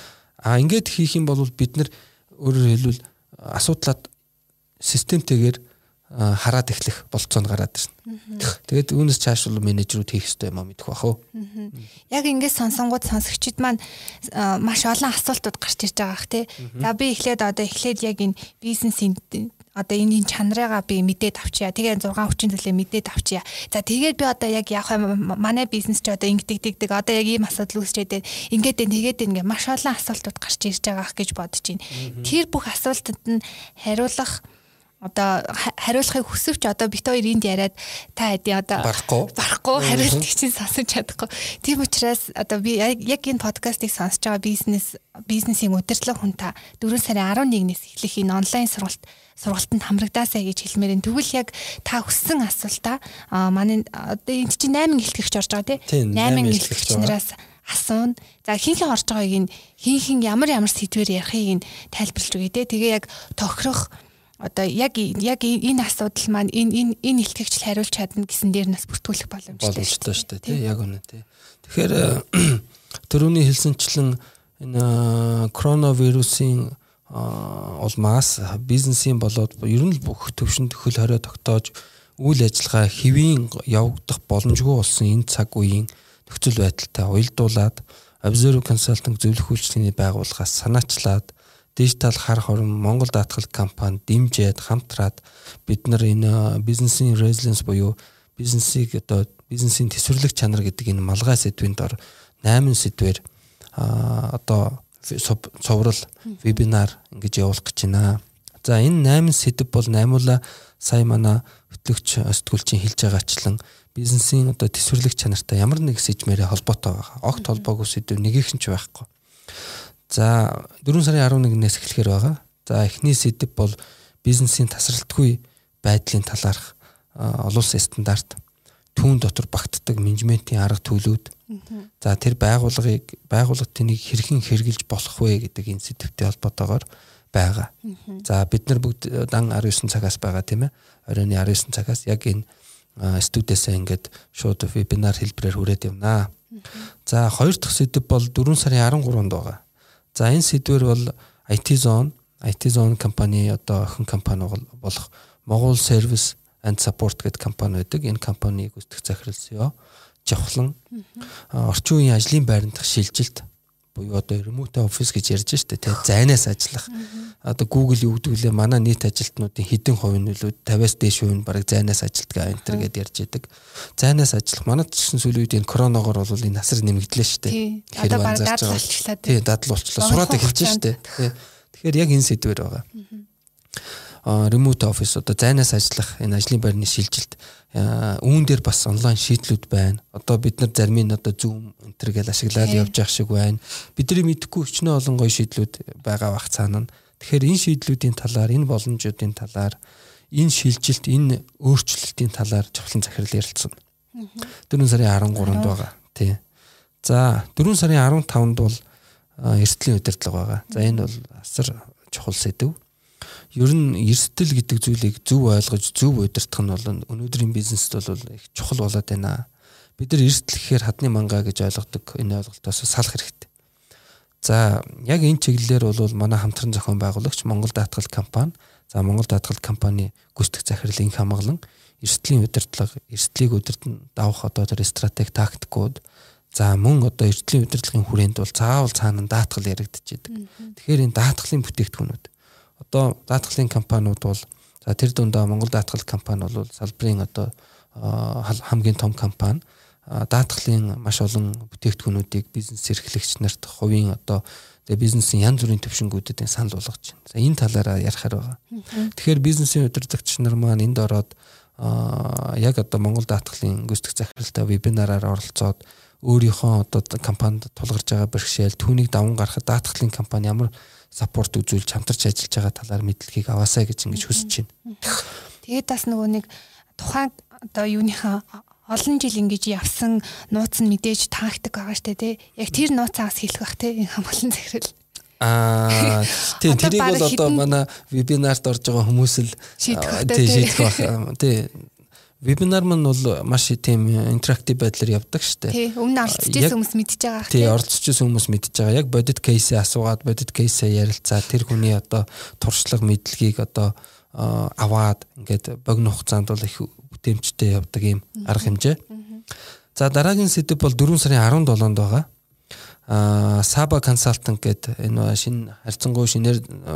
S3: Ингээд хийх юм бол бид нар өөрөөр хэлбэл асуудлаад системтэйгээр хараад эхлэх болцоонд гараад ирнэ. Тэгээд үүнээс цааш бол менежерүүд хийх ёстой юм а мэдэх бах уу.
S2: Яг ингээд сонсонгууд сонсогчид маань маш олон асуултууд гарч ирж байгаа х тий. За би эхлээд яг энэ бизнесийн одоо энэ чанарыгаа би мэдээд авчия. Тэгээ 6 хүчин зүйлээ мэдээд авчия. За тэгээд би одоо яг яах вэ? Манай бизнес ч одоо ингэдэг одоо яг ийм асуудал үүсчээд тэгээд ингээ маш олон асуултууд гарч ирж байгаа гэж бодож байна. Тэр бүх асуултанд нь хариулахыг хүсвч одоо бит хоёр энд яриад та хэдий одоо барахгүй хариултыг чинь сонсож чадахгүй. Тийм учраас одоо би яг энэ подкастыг сонсож байгаа бизнесийн удирдлага хүн та 4 сарын 11-ээс эхлэх энэ онлайн сургалтанд хамрагдаасаа гэж хэлмээр энэ тэгвэл яг та хүссэн асуултаа манай одоо энэ чинь 8 илтгэгч орж байгаа тийм 8 илтгэгч нараас асуун. За хинхэн орж байгааг энэ хинхэн ямар сэдвээр ярихыг нь тайлбарлаж өгье те. Тэгээ яг тохирох одоо яг энэ асуудал маань энэ илтгэгчл хариулж чадна гэсэн дээр нас бүртгүүлэх боломжтой
S3: шүү дээ тий яг үнэ тий. Тэгэхээр түрүүний хэлсэнчлэн энэ коронавирусын улмаас бизнесийн болоод ер нь бүх төвшөнд хөл хорио тогтоож үйл ажиллагаа хэвийн явагдах боломжгүй болсон энэ цаг үеийн нөхцөл байдалтай уялдуулаад Observe Consulting зөвлөх үйлчилгээний байгууллагаас санаачлаад дижитал хар хорон Монгол даатгал компани дэмжиж хамтраад бид нар энэ бизнесийн resilience буюу бизнесийн төсвөрлөх чанар гэдэг энэ малгай сэдвийн дор 8 сэдвээр одоо цоврал вебинар ингэж явуулах гэж байна. За энэ 8 сэдв бол наймуула сая манай хөтлөгч сэтгүүлчийн хэлж байгаачлан бизнесийн одоо төсвөрлөх чанартай ямар нэг сэжмээрээ холбоотой байгаа. Огт холбоогүй сэдв нэгийнх нь ч байхгүй. За 4 сарын 11-ээс эхлэхээр байгаа. За эхний сэдэв бол бизнесийн тасралтгүй байдлын талаарх олон улсын стандарт, түүн дотор багтдаг менежментийн арга төлөвүүд. За тэр байгууллагад тэнийг хэрхэн хэрэгжилж болох вэ гэдэг энэ сэдвтэй холбоотойгоор байгаа. За бид нар бүгд дан 19 цагаас байгаа тийм ээ. Оройн 19 цагаас яг энэ студиэсээ ингээд шууд вебинар хэлбэрээр хүрээд явнаа. За хоёр дахь сэдэв бол 4 сарын 13-нд байгаа. За энэ сэдвэр бол IT Zone компани одоо охин компани болох Монгол Service and Support гэдэг компани байдаг. Энэ компаниг гүйцэтгэх захирал CEO Жавхлан орчин үеийн ажлын байрандах шилжилт буюу одоо remote office гэж ярьж штэ тий зайнаас ажиллах. Одоо Google юу гэдэг вэ? Манай нийт ажилтнуудын хэдэн хувийн нөлөө 50-аас дээш хувь нь бараг зайнаас ажилтгаа энтер гэдээ ярьж байдаг. Зайнаас ажиллах манайд ч гэсэн сүүлийн үед энэ коронавигоор бол энэ насар нэмэгдлээ штэ.
S2: Тэгэхээр дадал болчихлоо.
S3: Тий дадал болчихлоо. Сураад эхэлж штэ. Тэгэхээр яг энэ сэдвэр байгаа. Remote office одоо зайнаас ажиллах энэ ажлын байрны шилжилт үүн дээр бас онлайн шийдлүүд байна. Одоо бид нар зарим нь одоо Zoom энтер гэж ашиглаад явж явах шиг байна. Бидний мэдэхгүй өчнөө олон гоё шийдлүүд байгаа бах цаана. Тэгэхээр энэ шийдлүүдийн талаар, энэ боломжуудын талаар, энэ шилжилт, энэ өөрчлөлтийн талаар Жавхлан захирал ярилцсан. 4 сарын 13-нд байгаа. Тий. За 4 сарын 15-нд бол эрсдлийн удирдлага байгаа. За энэ бол асар чухал сэдв. Ер нь эрсдэл гэдэг зүйлийг зөв ойлгож зөв удирдах нь бол өнөөдрийн бизнест бол их чухал болоод байна. Бид нар эрсдэл гэхээр хадны мангаа гэж ойлгодог. Энэ ойлголтоос салах хэрэгтэй. За яг энэ чиглэлээр бол манай хамтран зохион байгуулагч Монгол даатгал компани. За Монгол даатгал компани гүйцэтгэх захирал инх хамгаалан эрсдлийн удирдлага, эрсдлийг удирдан давах одоо тэр стратеги тактикууд за мөн одоо эрсдлийн удирдлагын хүрээнд бол заавал цаана даатгал яригдчихэдэг. Тэгэхээр энэ даатгалын бүтээгдэхүүнүүд одоо даатгалын компаниуд бол за тэр дундаа Монгол даатгал компани бол салбарын одоо хамгийн том компани даатгалын маш олон бүтээгдэхүүнүүдийг бизнес эрхлэгч нарт хувийн одоо бизнесийн янз бүрийн төвшингүүдэд санал болгож байна. За энэ талаараа ярихаар байгаа. Тэгэхээр бизнесийн удирдагч нар маань энд ороод яг одоо Монгол даатгалын гүйцэтгэх захиралтай вебинараар оролцоод өөрийнхөө одоо компанид тулгарч байгаа бэрхшээл түүнийг даван гаргахад даатгалын компани ямар саппорт үзүүлж хамтарч ажиллаж байгаа талаар мэдлэгийг аваасаа гэж ингэж хүсэж байна.
S2: Тэгээд бас нөгөө нэг тухайн одоо юуныхаа олон жил ингэж явсан нууц нь мэдээж тактик байгаа штэ тий. Яг тэр нууцаас хэлэх бах тий хамгаалсан захирал.
S3: Тийм тэрийг бол одоо манай вебинарт орж байгаа хүмүүс л шийдэх байх. Тий. Вебинар маань бол маш тийм интерактив байдлаар явдаг шүү дээ. Тий,
S2: өмнө оролцож хүмүүс мэдж байгаа.
S3: Тий, оролцож хүмүүс мэдж байгаа. Яг бодит кейсээ асуугаад, бодит кейсээ ярилцаад тэр хүний одоо туршлага мэдлэгийг одоо аваад ингээд богино хугацаанд бол их бүтээмжтэй явдаг юм арга хэмжээ. За дараагийн сэдэв бол 4 сарын 17-нд байгаа. Saba Consultant гэдэг энэ шинэ харьцангуй шинээр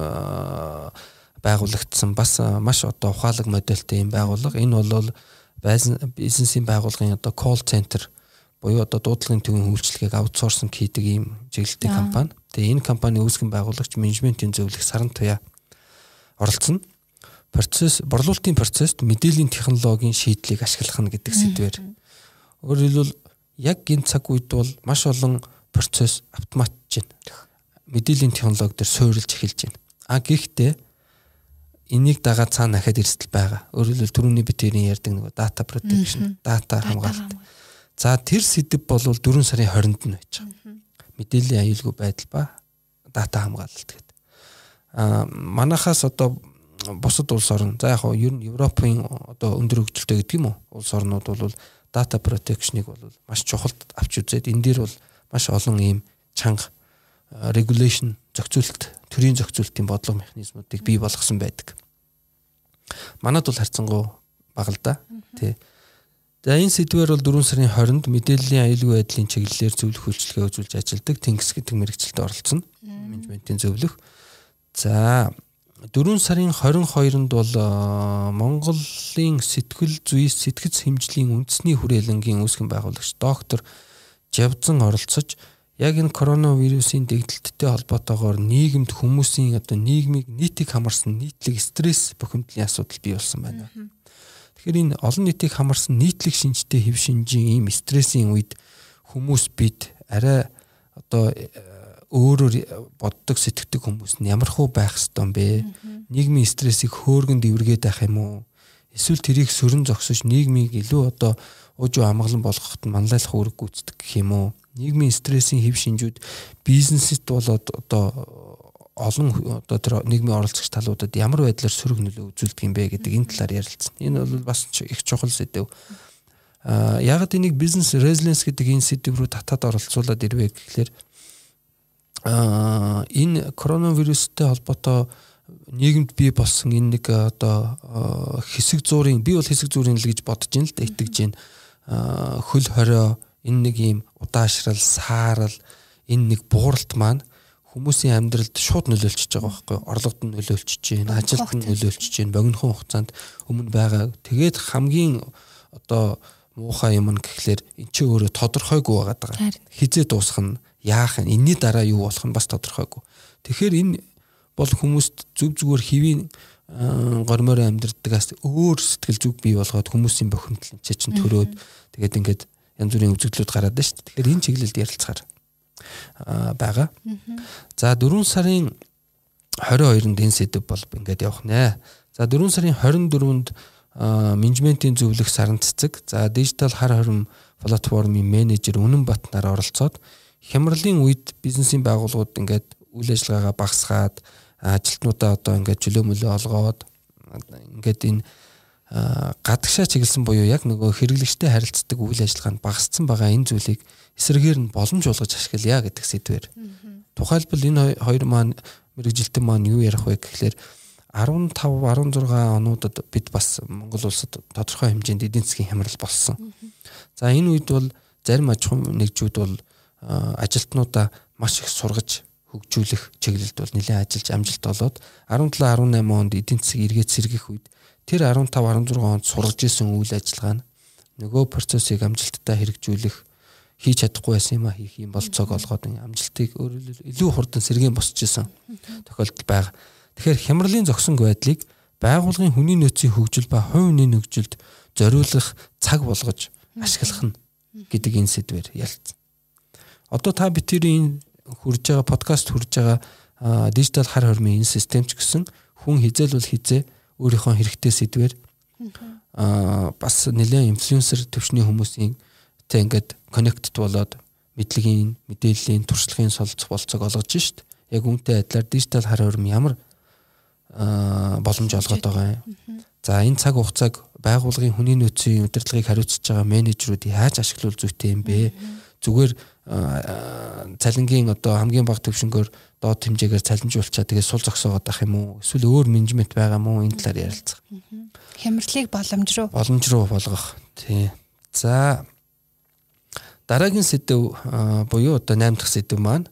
S3: байгуулагдсан бас маш одоо ухаалаг модельтэй юм байгууллага. Энэ бол бизнесийн байгууллагын одоо call center буюу одоо дуудлагын төвийн үйлчилгээг аутсорсинг хийдэг ийм чиглэлтэй компани. Тэгээ энэ компани үүсгэн байгуулагч менежментийн зөвлөх Саран Туяа оролцсон. Борлуулалтын процесст мэдээллийн технологийн шийдлийг ашиглах нь гэдэг сэдвээр. Өөрөөр хэлбэл яг энэ цаг үед бол маш олон процесс автоматжиж байна. Мэдээллийн технологи дээр суурилж эхэлж байна. Гэхдээ энийг дагаад цаана дахиад эрсдэл байгаа. Өөрөөр хэлбэл түрүүний битэрийн ярьдаг нэг data protection, data хамгаалалт. За тэр сэдэв бол 4 сарын 20-нд нь байж байгаа. Мэдээллийн аюулгүй байдал ба data хамгаалалт гэдэг. Манайхаас одоо бусад улс орн за яг хоо ер нь Европын одоо өндөр хөгжилтэй гэдэг юм уу? Улс орнууд бол data protection-ыг бол маш чухалд авч үзээд энэ дээр бол маш олон ийм чанга regulation зохицуулалт, төрийн зохицуулалтын бодлого механизмуудыг бий болгосон байдаг. Манайд бол харьцангуй бага л да. Тий. За энэ сэдвээр бол 4 сарын 20-нд мэдээллийн аюулгүй байдлын чиглэлээр зөвлөх үйлчилгээ үзүүлж ажилладаг Тэнгис гэдэг мэргэжилтэд оролцсон. Менежментийн зөвлөх. За 4 сарын 22-нд бол Монголын сэтгэл зүйс сэтгэц хэмжлийн үндэсний хүрээлэнгийн үүсгэн байгуулагч доктор Жавзан оролцож яг энэ коронавирусын дэгдэлттэй холбоотойгоор нийгэмд хүмүүсийн одоо нийгмийг нийтийг хамарсан нийтлэг стресс бухимдлын асуудал бий болсон байна. Тэгэхээр энэ олон нийтийг хамарсан нийтлэг шинжтэй хэв шинжийн ийм стрессийн үед хүмүүс бид арай одоо өөрөөр боддог сэтгэдэг хүмүүс нь ямар хөө байх ёстой юм бэ? Нийгмийн стрессийг хөөргөн дэвргээд байх юм уу? Эсвэл тэрийг сөрөн зогсож нийгмийг илүү одоо уужуу амгалан болгоход манлайлах үүрэг гүйцэтгэх гэх юм уу? Нийгмийн стрессийн хэв шинжүүд бизнест болоод одоо олон одоо тэр нийгмийн оролцогч талуудад ямар байдлаар сөрөг нөлөө үзүүлдэг юм бэ гэдэг энэ талаар ярилцсан. Энэ бол бас их чухал сэдэв. Яг энийг бизнес resilience гэдэг энэ сэдэв рүү татаад оролцуулаад ирвэ гэхлээр энэ коронавирустэй холбоотой нийгэмд бий болсон энэ нэг одоо хэсэг зуурын би бол хэсэг зуурын л гэж бодож ин л да итгэж байна. Хөл хорио энэ нэг юм удаашрал, саарал, энэ нэг бууралт маань хүмүүсийн амьдралд шууд нөлөөлчихөж байгаа байхгүй юу? Орлогод нь нөлөөлчихөж байна, ажилд нь нөлөөлчихөж байна, богинохон хугацаанд өмнө байгаа. Тэгээд хамгийн одоо муухай юм нь гэхлээр эн чинь өөрөө тодорхойгүй байгаад байгаа. Хизээ дуусах нь, яах нь, энэний дараа юу болох нь бас тодорхойгүй. Тэгэхээр энэ бол хүмүүст зүг зүгээр хэвийн гормоор амьдрдагаас өөр сэтгэл зүг бий болгоод хүмүүсийн бохимдол чинь төрөөд тэгээд ингээд янз бүрийн үзэгдлүүд гараад байна шүү дээ. Тэгэхээр энэ чиглэлд ярилцахаар байгаа. За 4 сарын 22-нд энэ сэдэв бол ингээд явах нэ. За 4 сарын 24-нд менежментийн зөвлөх Саран Цэцэг, за дижитал хар хорим платформын менежер Үнэн Батнаар оролцоод хямралын үед бизнесийн байгууллагууд ингээд үйл ажиллагаагаа багасгаад ажилтнуудаа одоо ингээд чөлөө мөлөө олгоод ингээд энэ гадагшаа чиглэсэн буюу яг нөгөө хэрэглэгчтэй харилцдаг үйл ажиллагаанд багассан байгаа энэ зүйлийг эсрэгээр нь боломж болгож ашиглая гэдэг сэдвээр. Тухайлбал энэ хоёр маань мэрэгжилтэн маань юу ярих вэ гэхлээр 15 16 онуудад бид бас Монгол улсад тодорхой хэмжээнд эдийн засгийн хямрал болсон. За энэ үед бол зарим аж ахуйн нэгжүүд бол ажилтнуудаа маш их сургаж хөгжүүлэх чиглэлд бол нэлээд ажиллаж амжилт олоод 17 18 онд эдийн засаг эргээд сэргийх үед тэр 15 16 онд сургаж исэн үйл ажиллагаа нь нөгөө процессыг амжилттай хэрэгжүүлэх хийж чадахгүй байсан юм а хийх юм болцоог олгоод амжилтыг илүү хурдан сэргээн босч исэн тохиолдол байгаа. Тэгэхээр хямралын зогсонг байдлыг байгууллагын хүний нөөцийн хөгжил ба хувь хүний нөхцөлд зориулах цаг болгож ашиглах нь гэдэг энэ сэдвээр ярилцсан. Одоо та бидний хурж байгаа подкаст хурж байгаа дижитал хар хормын энэ системч гэсэн хүн хизээлвэл хизээ өөрийнхөө хэрэгтэй сэдвээр бас нэлээд инфлюенсер төвчний хүмүүсийн тэ ингээд коннектд болоод мэдлэгийн мэдээллийн туршлагын болцоог олгож шít. Яг үүнтэй адилаар дижитал хар хорм ямар боломж олгоод байгаа юм. За энэ цаг хугацааг байгууллагын хүний нөөцийн удирдлагыг хариуцж байгаа менежерүүд яаж ашиглуул зүйтэй юм бэ? Зүгээр цалингийн одоо хамгийн бага төвшнгөөр доод хэмжээгээр цалинжуулчаа тэгээ сул зогсоогоод ах юм уу? Эсвэл өөр менежмент байгаа мó энэ талаар ярилцах.
S2: Хямралыг
S3: боломж руу болгох. Тий. За дараагийн сэдв буюу одоо 8 дахь сэдв маань.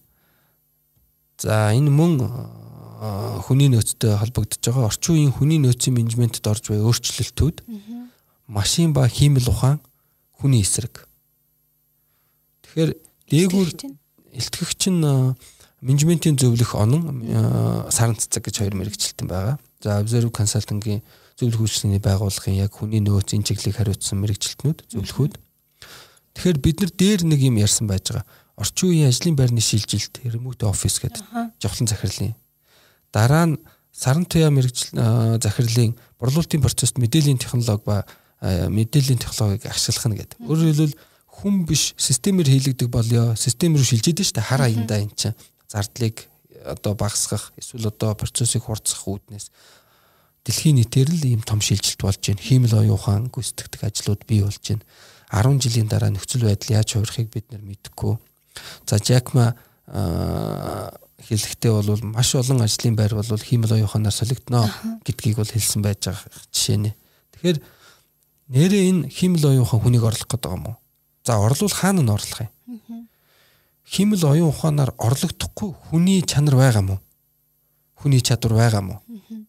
S3: За энэ мөн хүний нөөцтэй холбогдож байгаа орчин үеийн хүний нөөцийн менежментэд орж буй өөрчлөлтүүд машин ба хиймэл ухаан хүний эсрэг. Тэгэхээр дээгүүр илтгэгч нь менежментийн зөвлөх онон саран цэцэг гэж хоёр мэргэжилтэн байгаа. За Observe Consulting-ийн зөвлөх үйлчлэгийн байгууллагын яг хүний нөөцийн чиглэлийг хариуцсан мэргэжилтнүүд зөвлөхүүд. Тэгэхээр бид нар дээр нэг юм ярьсан байж байгаа. Орчин үеийн ажлын байрны шилжилт, remote office гэдэг жавхлан захирлын. Дараа нь саран туяа мэргэжил захирлын борлуулалтын процессд мэдээллийн технологи ба мэдээллийн технологиг ашиглах нь гэдэг. Өөрөөр хэлбэл хүн биш системээр хийлэгдэх болёо, систем рүү шилжээд нь шүү дээ. Хар аяндаа энэ чинь зардлыг одоо багасгах, эсвэл одоо процессыг хурцсах үүднээс дэлхийн нийтээр л ийм том шилжилт болж байна. Хиймэл оюун ухаан гүйцэтгэдэг ажлууд бий болж байна. 10 жилийн дараа нөхцөл байдал яаж хувирахыг бид нар мэдэхгүй. За Jack Ma хэлэхдээ бол маш олон ажлын байр бол хиймэл оюун ухаанаар солигдно гэдгийг бол хэлсэн байж байгаа жишээ нэ. Тэгэхээр нэрээ энэ хиймэл оюун ухаан хүнийг орлох гэдэг юм уу? За орлуул хаана нь орлох юм? Хиймэл оюун ухаанаар орлогдохгүй хүний чанар байгаа мó? Хүний чадвар байгаа мó?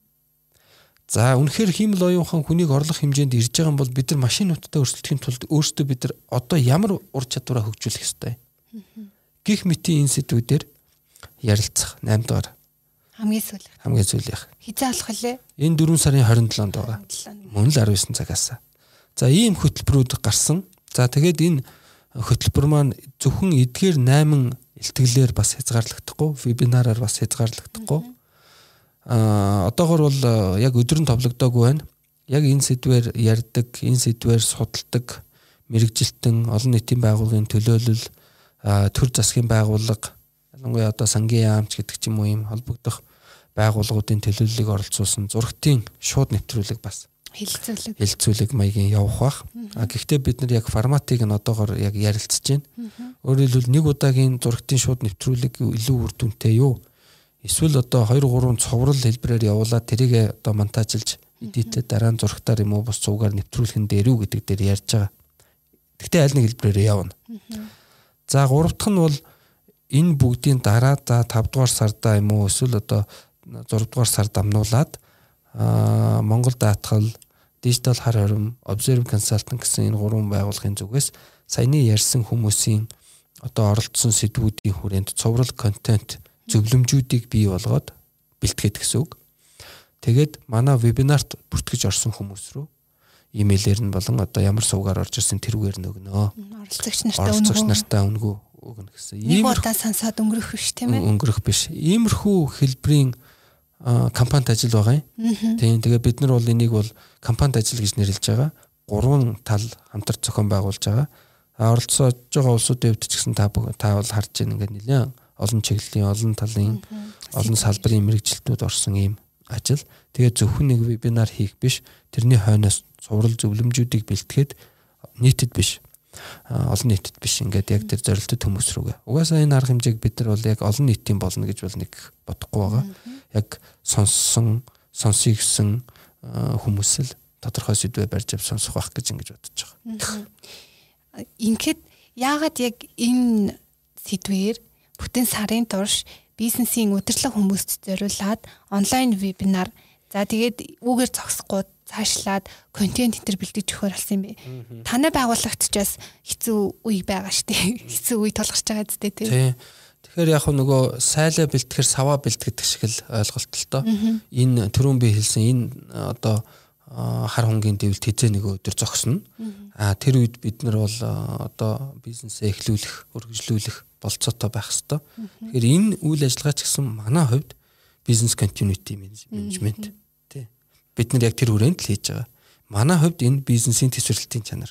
S3: За үнэхээр хиймэл оюун ухаан хүнийг орлох хэмжээнд ирж байгаа юм бол бид нар машинуудтай өрсөлдөхийн тулд өөрсдөө бид нар одоо ямар ур чадвараа хөгжүүлэх ёстой? Гэх мэтийн энэ сэдвүүдээр ярилцах 8 дугаар. Хамгийн сүүлийнх.
S2: Хизээ алах вэ?
S3: Энэ 4 сарын 27-нд байгаа. Мөн л 19 цагаас. За ийм хөтөлбөрүүд гарсан. За тэгээд энэ хөтөлбөр маань зөвхөн эдгээр 8 илтгэлээр бас хязгаарлагдахгүй, вебинараар бас хязгаарлагдахгүй. Одоогор бол яг өдөр нь товлогдоогүй байна. Яг энэ сэдвээр ярьдаг, энэ сэдвээр судалдаг мэрэгжилтэн, олон нийтийн байгууллагын төлөөлөл, төр засгийн байгууллага, ялангуяа одоо сангийн яамч гэдэг ч юм уу ийм холбогдох байгууллагуудын төлөөллийг оролцуулсан зургтын шууд нэвтрүүлэг бас хэлэлцүүлэг маягийн явах бах. Гэхдээ бид нар яг форматыг нь одоогор яг ярилцж байна. Өөрөөр хэлбэл нэг удаагийн зургтын шууд нэвтрүүлэг илүү үр дүнтэй юу? Эсвэл одоо 2 3 цоврал хэлбэрээр явуулаад тэрийг одоо монтажлж эдитэд дараа нь зургатаар юм уу бус цугаар нэвтрүүлхэн дээр үү гэдэг дээр ярьж байгаа. Гэхдээ аль нэг хэлбэрээр явна. За 3 дахь нь бол энэ бүгдийн дараа за 5 дугаар сарда юм уу эсвэл одоо 6 дугаар сард амнуулаад Монгол даатгал, Digital хар хором, Observe Consulting гэсэн энэ 3 байгууллагын зүгээс саяны ярьсан хүмүүсийн одоо оролцсон сэдвүүдийн хүрээнд цоврал контент зөвлөмжүүдийг бий болгоод бэлтгээд гэсэн үг. Тэгээд манай вебинарт бүртгэж орсон хүмүүс рүү имэйлээр нь болон одоо ямар сувгаар орж ирсэн тэрүүгээр нь өгнө. Оролцогч нартаа өнгөө өгнө гэсэн.
S2: Ийм удаа сансаад өнгөрөх биш тийм ээ.
S3: Өнгөрөх биш. Иймэрхүү хэлбэрийн компанид ажил байгаа юм. Тийм. Тэгээ бид нар бол энийг бол компанид ажил гэж нэрлэж байгаа. 3 тал хамтар зохион байгуулж байгаа. Оролцож байгаа улсуудын хувьд ч гэсэн та бол харж байна ингээд нэлээд олон чиглэлийн, олон талын, олон салбарын мэрэгжилтүүд орсон ийм ажил. Тэгээд зөвхөн нэг вебинар хийх биш, тэрний хойноос цуврал зөвлөмжүүдийг бэлтгээд нийтэд биш. Олон нийтэд биш ингээд яг тэр зорилттой хүмүүс рүүгээ. Угаасаа энэ арга хэмжээг бид нар бол яг олон нийтийн болно гэж бол нэг бодохгүй байгаа. Яг сонсъё гэсэн хүмүүс л тодорхой сэдвээ барьж ав сонсох байх гэж ингэж бодож байгаа.
S2: Ингээд яагаад яг энэ сэдвээр бүтэн сарын турш бизнесийн удирдлага хүмүүст зориулаад онлайн вебинар за тэгээд үүгээр зогсохгүй цаашлаад контент энэ төр бэлдэж өгөхөр болсон юм бэ. Танай байгуулагч ч бас хэцүү үе байгаа штеп. Хэцүү үе тулгарч байгаа зү тий.
S3: Тэгэхээр яг нөгөө сайлаа бэлтгэхэр саваа бэлтгэдэг шиг л ойлголттой. Энэ түрүүн би хэлсэн энэ одоо хар хонгийн дэвлэлт хизээ нэг өдөр зогсно. Тэр үед бид нар бол одоо бизнесээ эхлүүлэх, үргэлжлүүлэх болцоотой байх хэвээр. Тэгэхээр энэ үйл ажиллагаа ч гэсэн манай хувьд бизнес continuity management тий. Бид нар яг тэр хүрээнд л хийж байгаа. Манай хувьд энэ бизнесийн төсвөрлөлтийн чанар.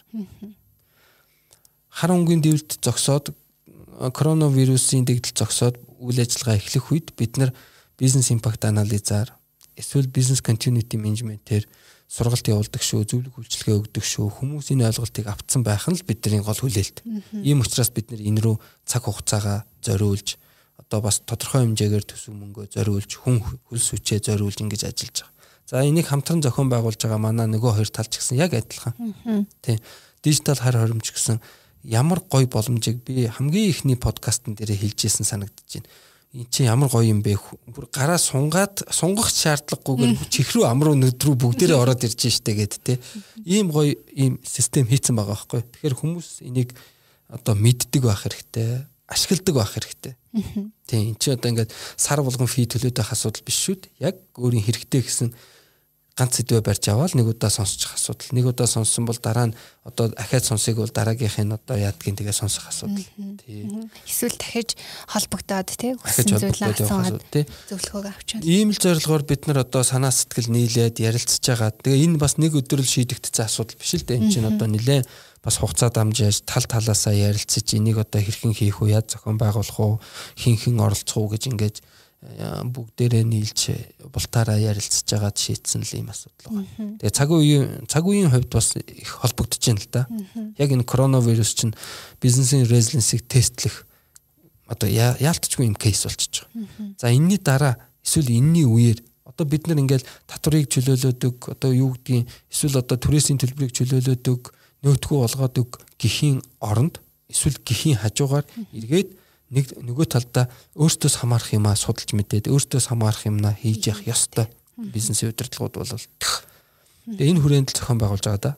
S3: Хар хонгийн дэвлэлт зогсоод коронавирусын дэгдэл зогсоод үйл ажиллагаа эхлэх үед бид нар бизнес импакт анализаар эсвэл бизнес continuity management-ээр сургалт явуулдаг шүү, зөвлөх үйлчилгээ өгдөг шүү, хүмүүсийн ойлголтыг авцсан байх нь л бидний гол хүлээлт. Ийм учраас бид нар энэ рүү цаг хугацаагаа зориулж одоо бас тодорхой хэмжээгээр төсөв мөнгөө зориулж хүн хөлс хүчээ зориулж ингэж ажиллаж байгаа. За энийг хамтран зохион байгуулж байгаа манай нөгөө хоёр тал ч гэсэн яг адилхан. Тийм. Дижитал хар хоримч гэсэн ямар гоё боломжийг би хамгийн ихний подкастн дээр хэлжсэн санагдаж байна. Энд чинь ямар гоё юм бэ? Бүр гараа сунгах шаардлагагүйгээр чихрүү амруу нүдрүү бүгдээрээ ороод ирж штэ гэд тэ. Ийм гоё ийм систем хийцэн байгаа байхгүй. Тэгэхээр хүмүүс энийг одоо мэддэг байх хэрэгтэй, ашигладаг байх хэрэгтэй. Тийм. Энд чинь одоо ингээд сар болгон фи төлөөд байх асуудал биш шүү дээ. Яг өөрийн хэрэгтэй гэсэн ганц сэдвээ барьж аваад нэг удаа сонсчих асуудал. Нэг удаа сонссон бол дараа нь одоо ахаад сонсыг бол дараагийнхын одоо яадгийн тэгээ сонсох асуудал.
S2: Тийм. Эсвэл дахиж холбогдоод тий хүссэн зүйлээ асууад зөвлөгөөг авчаад.
S3: Ийм л зорилгоор бид нар одоо санаа сэтгэл нийлээд ярилцж байгаа. Тэгээ энэ бас нэг өдөр л шийдэгдсэн асуудал биш л дээ. Энэ чинь одоо нэлээд бас хугацаа дамжиж тал талаасаа ярилцаж энийг одоо хэрхэн хийх вэ? Яаж зохион байгуулах вэ? Хин оролцох уу гэж ингээд бүгдээрээ нийлж бултаараа ярилцж байгаад шийдсэн л юм асуудал байна. Тэгээ цаг үеийн хувьд бас их холбогдож байна л да. Яг энэ коронавирус чинь бизнесийн резилиенсийг тестлэх одоо яалтчгүй юм кейс болчихж байгаа. За энэний дараа эсвэл энэний үеэр одоо бид нар ингээл татварыг чөлөөлөдөг, одоо юу гэдгийг эсвэл одоо түрээсийн төлбөрийг чөлөөлөдөг, нөөтгөө болгодог гэхийн оронд эсвэл гэхийн хажуугаар эргээд нэг нөгөө талдаа өөртөөс хамаарах юмаа судалж мэдээд өөртөөс хамаарах юмнаа хийж явах ёстой бизнесийн удирдлагууд бол тэгээ энэ хүрээнд л зохион байгуулж байгаа да.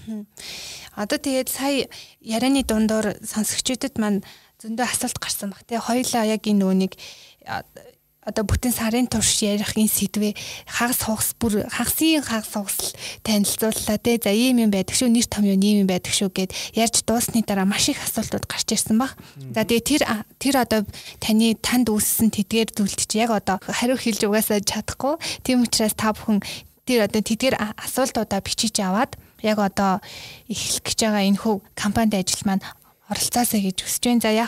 S2: Одоо тэгээд сая ярианы дундуур сонсогчдод маань зөндөө асуулт гарсан баг тий. Хоёлаа яг энэ нүунийг одоо бүтэн сарын турш ярих энэ сэдвээ хагасын танилцууллаа тий. За ийм юм байдаг шүү, нэр том юм ийм юм байдаг шүү гэд ярьж дуусны дараа маш их асуултууд гарч ирсэн баг. За тэгээ тэр одоо танд үүссэн тэдгээр зүйлд чи яг одоо хариу хэлж угаасаа чадахгүй. Тийм учраас та бүхэн тэр одоо тэдгээр асуултуудаа бичиж аваад яг одоо эхлэх гэж байгаа энэ хөв компанид ажил маань оролцоосаа гэж хүсэж байна. За яг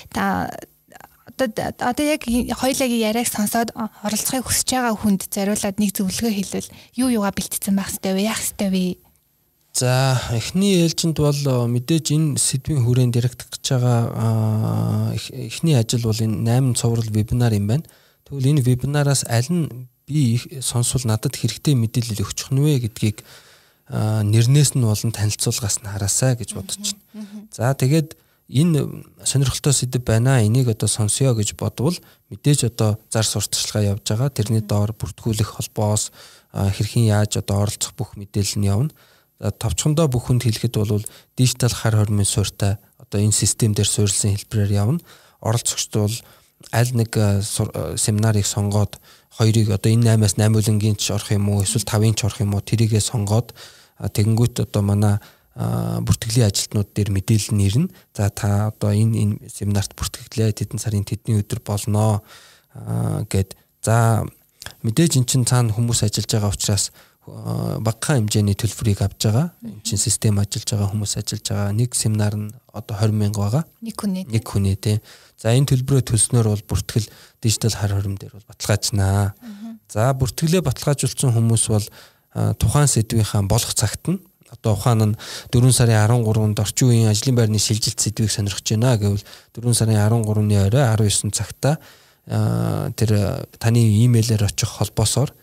S2: одоо яг хоёулагийн яриаг сонсоод оролцохыг хүсэж байгаа хүнд зориулаад нэг зөвлөгөө хэлвэл юугаа бэлтцсэн байх ёстой вэ? Яах ёстой вэ?
S3: За эхний ээлжинд бол мэдээж энэ сэдвийн хүрээнд яригдах гэж байгаа эхний ажил бол энэ 8 цуврал вебинар юм байна. Тэгвэл энэ вебинараас аль нь би сонсвол надад хэрэгтэй мэдээлэл өгчих нь вэ гэдгийг нэрнээс нь болон танилцуулгаас нь хараасаа гэж бодож байна. За тэгээд энэ сонирхолтой сэдв байна. Энийг одоо сонсё гэж бодвол мэдээж одоо зар сурталчилгаа явж байгаа. Тэрний доор бүртгүүлэх холбоос хэрхэн яаж одоо оролцох бүх мэдээлэл нь явна. Товчхондоо бүхэнд хэлэхэд бол дижитал хар хормын суурьтай одоо энэ систем дээр суурилсан хэлбэрээр явна. Оролцогчд бол аль нэг семинарыг сонгоод хоёрыг одоо энэ 8-аас 8 үлэнгийн ч орох юм уу эсвэл 5-ын ч орох юм уу тэрийгээ сонгоод тэгэнгүүт одоо манай бүртгэлийн ажилтнууд дээр мэдээлэл нь ирнэ. За та одоо энэ семинарт бүртгэлээ тэдэн сарын тэдний өдөр болноо гэд. За мэдээж эн чин цаана хүмүүс ажиллаж байгаа учраас багахан хэмжээний төлбөрийг авч байгаа. Энэ чинь систем ажиллаж байгаа, хүмүүс ажиллаж байгаа. Нэг семинар нь одоо 20,000 байгаа.
S2: Нэг
S3: хүний тий. За энэ төлбөрөө төлснөөр бол бүртгэл дижитал хар хорим дээр бол баталгаажнаа. За бүртгэлээ баталгаажуулсан хүмүүс бол тухайн сэдвийнхаа болох цагт нь одоо ухаан нь 4 сарын 13-нд орчин үеийн ажлын байрны шилжилт сэдвийг сонирхож байна гэвэл 4 сарын 13-ны орой 19 цагта тэр таны имэйлээр очих холбоосоор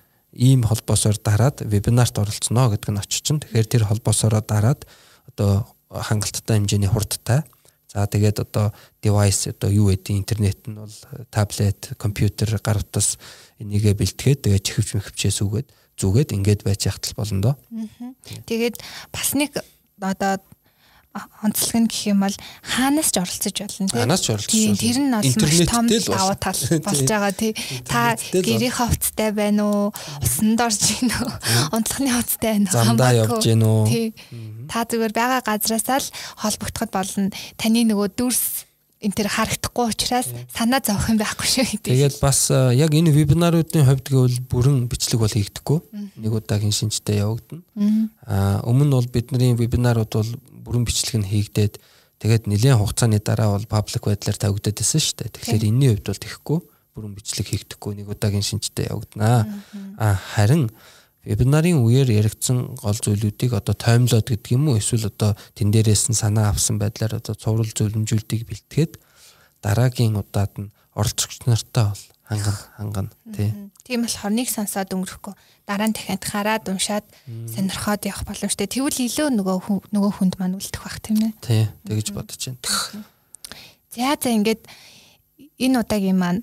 S3: дараад вебинарт оролцсноо гэдэг нь очиж чинь. Тэгэхээр тэр холбоосоор дараад одоо хангалттай хэмжээний хурдтай. За тэгээд одоо девайс одоо юу гэдэг интернет нь бол таблет, компьютер, гар утас энийгээ бэлтгээд тэгээд чихвчээс зүгээд ингээд байж яхтал болно доо.
S2: Тэгээд бас нэг одоо онцлог нь гэх юм бол хаанаас ч оролцож болно тийм.
S3: Хаанаас ч оролцож.
S2: Тэр нь бол маш том давуу тал болж байгаа тий. Та гэрийн хувцтай байна уу? Усанд орж гин үү? Унтлагын хувцтай байна уу?
S3: Замдаа явж гин үү?
S2: Тий. Та зүгээр байгаа газраасаа л холбогдоход болно. Таны нөгөө дүрс энэ төр харагдахгүй учраас санаа зовох юм байхгүй шүү.
S3: Тэгээд бас яг энэ вебинаруудын хувьд гэвэл бүрэн бичлэг бол хийгдэхгүй. Нэг удаагийн шинжтэй явагдана. Өмнө нь бол бидний вебинарууд бол бүрэн бичлэг нь хийгдээд тэгээд нэлээд хугацааны дараа бол паблик байдлаар тавигдаад байсан шүү дээ. Тэгэхээр энэний хувьд бол тэхгүй бүрэн бичлэг хийгдэхгүй нэг удаагийн шинжтэй явагдана. Харин вебинарын үеэр яригдсан гол зүйлүүдийг одоо таймлоод гэдэг юм уу эсвэл одоо тэн дээрээс нь санаа авсан байдлаар одоо цуврал зөвлөмжүүдийг бэлтгээд дараагийн удаад нь оролцогч нартай бол хангана тий.
S2: Тийм болохоор нэг сонсоод өнгөрөхгүй дараа нь дахиад хараад уншаад сонирхоод явах боломжтой. Тэгвэл илүү нөгөө хүнд маань үлдэх бах тийм ээ.
S3: Тий. Тэгэж бодож байна.
S2: За ингээд энэ удаагийн маань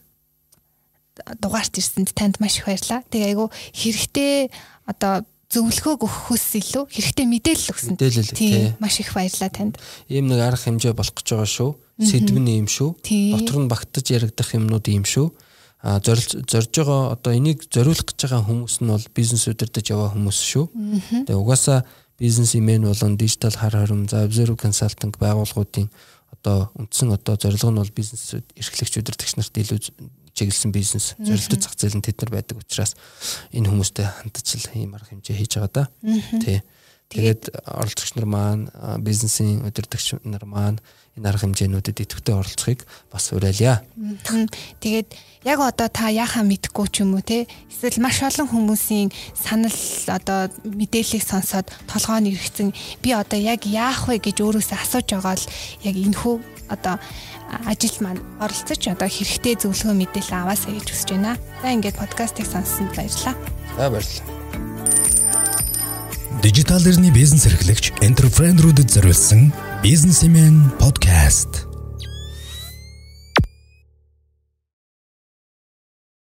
S2: дугаарт ирсэнд танд маш их баярлалаа. Тэгээ айгу хэрэгтэй одоо зөвлөгөө өгөхөөс илүү хэрэгтэй мэдээлэл өгсөн. Тийм маш их баярлалаа танд.
S3: Ийм нэг арга хэмжээ болох гэж байгаа шүү. Сэдв нь ийм шүү. Дотор нь багтаж яригдах юмнууд ийм шүү. Зорж байгаа одоо энийг зориулах гэж байгаа хүмүүс нь бол бизнес удирдах яваа хүмүүс шүү. Тэгээ угаасаа бизнесмен болон дижитал хар хорим за Observe Consulting байгууллагуудын одоо үндсэн одоо зорилго нь бол бизнес эрхлэгч удирдагч нарт илүү чиглэсэн бизнес зорилттой зах зээл нь тэд нар байдаг учраас энэ хүмүүстэй хандаж л ийм арга хэмжээ хийж байгаа да. Тий. Тэгээд оролцогч нар маань бизнесийн удирдагч нар маань энэ арга хэмжээнүүдэд идэвхтэй оролцохыг бас уриалъя.
S2: Тэгээд яг одоо та яахаа мэдэхгүй ч юм уу те эсвэл маш олон хүмүүсийн санал одоо мэдээллийг сонсоод толгойн эргэцэн би одоо яг яах вэ гэж өөрөөсөө асууж байгаа л яг энэхүү одоо ажилд маань оролцож одоо хэрэгтэй зөвлөгөө мэдээлэл аваасаа гэж хүсэж байна. За ингээд подкастыг сонссонд баярлалаа.
S3: За баярлалаа.
S1: Дижитал эрхний бизнес эрхлэгч энтерпренерүүдэд зориулсан бизнесмен подкаст.